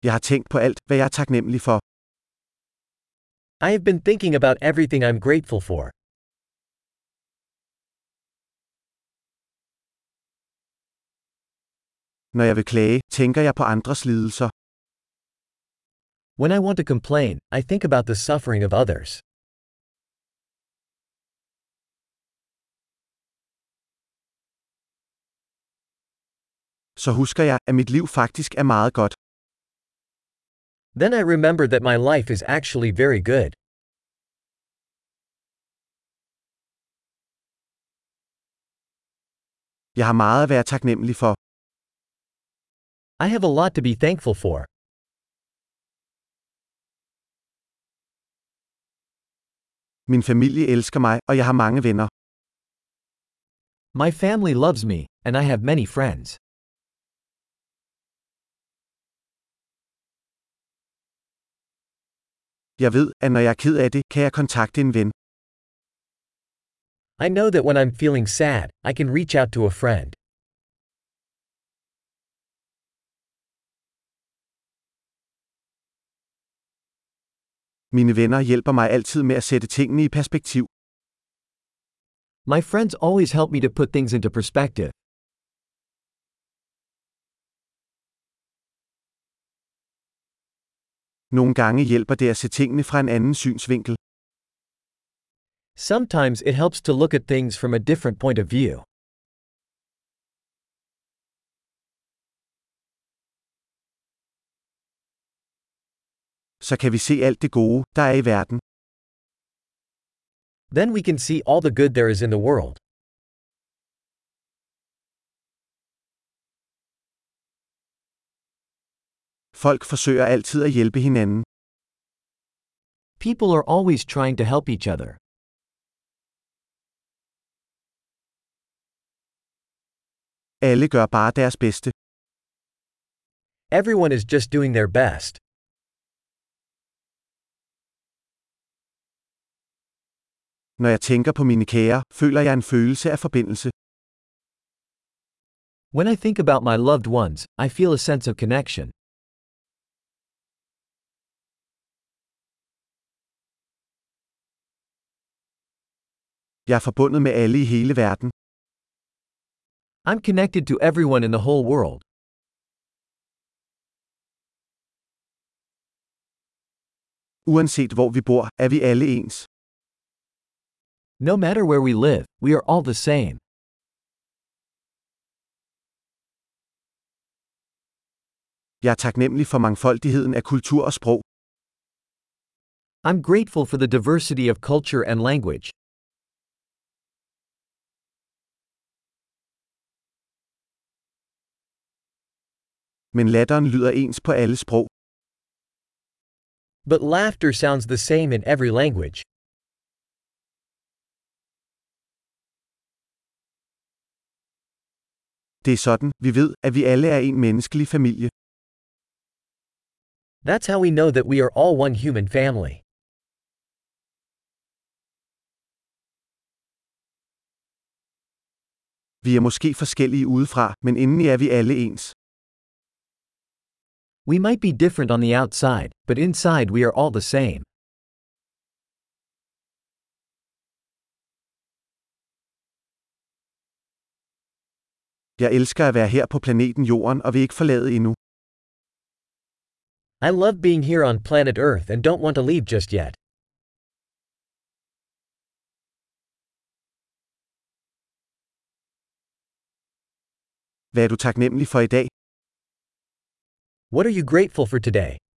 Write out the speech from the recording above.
Jeg har tænkt på alt, hvad jeg er taknemmelig for. I have been thinking about everything I'm grateful for. Når jeg vil klage, tænker jeg på andres lidelser. When I want to complain, I think about the suffering of others. Så husker jeg, at mit liv faktisk er meget godt. Then I remember that my life is actually very good. Jeg har meget at være taknemmelig for. I have a lot to be thankful for. Min familie elsker mig, og jeg har mange venner. My family loves me, and I have many friends. Jeg ved, at når jeg er ked af det, kan jeg kontakte en ven. I know that when I'm feeling sad, I can reach out to a friend. Mine venner hjælper mig altid med at sætte tingene i perspektiv. My friends always help me to put things into perspective. Nogle gange hjælper det at se tingene fra en anden synsvinkel. Sometimes it helps to look at things from a different point of view. Så kan vi se alt det gode, der er i verden. Then we can see all the good there is in the world. Folk forsøger altid at hjælpe hinanden. People are always trying to help each other. Alle gør bare deres bedste. Everyone is just doing their best. Når jeg tænker på mine kære, føler jeg en følelse af forbindelse. When I think about my loved ones, I feel a sense of connection. Jeg er forbundet med alle i hele verden. I'm connected to everyone in the whole world. Uanset hvor vi bor, er vi alle ens. No matter where we live, we are all the same. Jeg er taknemmelig for mangfoldigheden af kultur og sprog. I'm grateful for the diversity of culture and language. Men latteren lyder ens på alle sprog. But laughter sounds the same in every language. Det er sådan, vi ved, at vi alle er en menneskelig familie. That's how we know that we are all one human family. Vi er måske forskellige udefra, men indeni er vi alle ens. We might be different on the outside, but inside we are all the same. Jeg elsker at være her på planeten Jorden og vil ikke forlade endnu. I love being here on planet Earth and don't want to leave just yet. Hvad er du taknemmelig for i dag? What are you grateful for today?